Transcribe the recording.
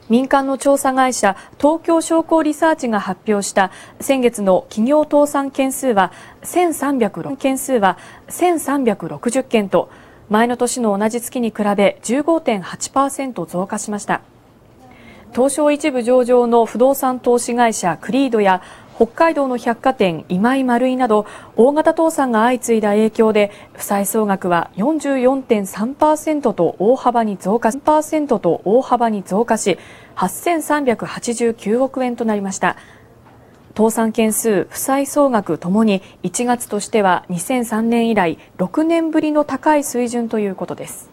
民間の調査会社東京商工リサーチが発表した先月の企業倒産件数は1360件と前の年の同じ月に比べ 15.8% 増加しました。東証一部上場の不動産投資会社クリードや北海道の百貨店今井丸井など大型倒産が相次いだ影響で負債総額は 44.3% と大幅に増加し8389億円となりました。倒産件数、負債総額ともに1月としては2003年以来6年ぶりの高い水準ということです。